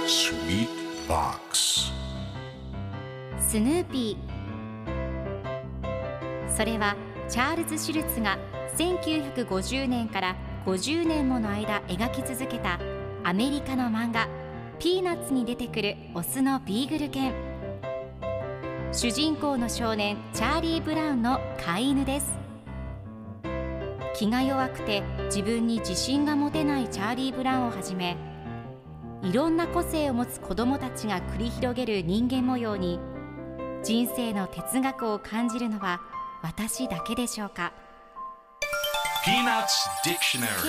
Sweet Box スヌーピー。それはチャールズ・シュルツが1950年から50年もの間描き続けたアメリカの漫画ピーナッツに出てくるオスのビーグル犬。主人公の少年チャーリー・ブラウンの飼い犬です。気が弱くて自分に自信が持てないチャーリー・ブラウンをはじめ、いろんな個性を持つ子どもたちが繰り広げる人間模様に人生の哲学を感じるのは私だけでしょうか。 Peanuts Dictionary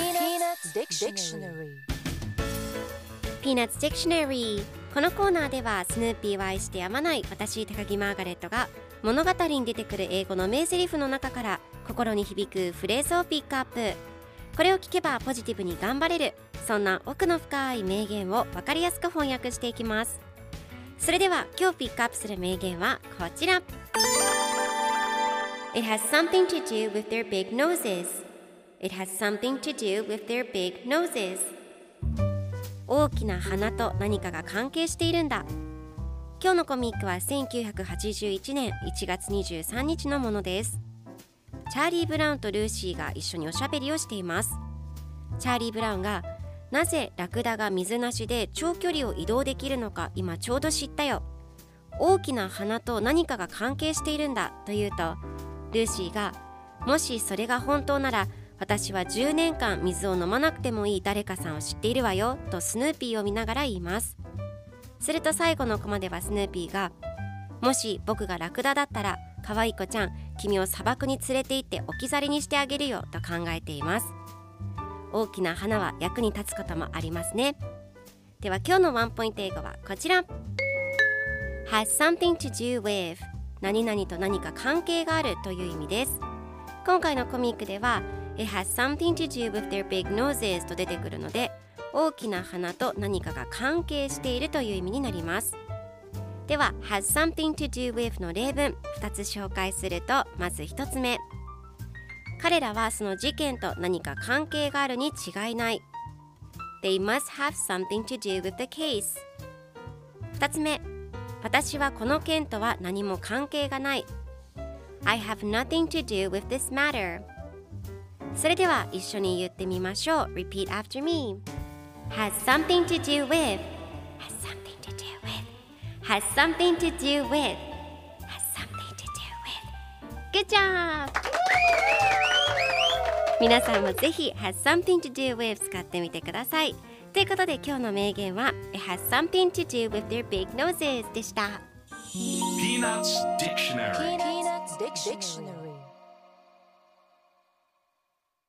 Peanuts Dictionary。 このコーナーではスヌーピーを愛してやまない私高木マーガレットが物語に出てくる英語の名台詞の中から心に響くフレーズをピックアップ。これを聞けばポジティブに頑張れる、そんな奥の深い名言を分かりやすく翻訳していきます。それでは今日ピックアップする名言はこちら。 It has something to do with their big noses. It has something to do with their big noses. 大きな鼻と何かが関係しているんだ。今日のコミックは1981年1月23日のものです。チャーリー・ブラウンとルーシーが一緒におしゃべりをしています。チャーリー・ブラウンがなぜラクダが水なしで長距離を移動できるのか今ちょうど知ったよ。大きな鼻と何かが関係しているんだと言うと、ルーシーがもしそれが本当なら私は10年間水を飲まなくてもいい誰かさんを知っているわよとスヌーピーを見ながら言います。すると最後のコマではスヌーピーがもし僕がラクダだったら可愛い子ちゃん、君を砂漠に連れて行って置き去りにしてあげるよと考えています。大きな花は役に立つこともありますね。では今日のワンポイント英語はこちら。 has something to do with 何々と何か関係があるという意味です。今回のコミックでは It has something to do with their big noses と出てくるので、大きな鼻と何かが関係しているという意味になります。では has something to do with の例文2つ紹介すると、まず1つ目、彼らはその事件と何か関係があるに違いない。 They must have something to do with the case。 2つ目、私はこの件とは何も関係がない。 I have nothing to do with this matter。 それでは一緒に言ってみましょう。 Repeat after me。 has something to do with has something to do with has something to do with has something to do with。 Good job。 皆さんもぜひ has something to do with 使ってみてください。ということで今日の名言は It has something to do with their big noses でした。 Peanuts Dictionary Peanuts Dictionary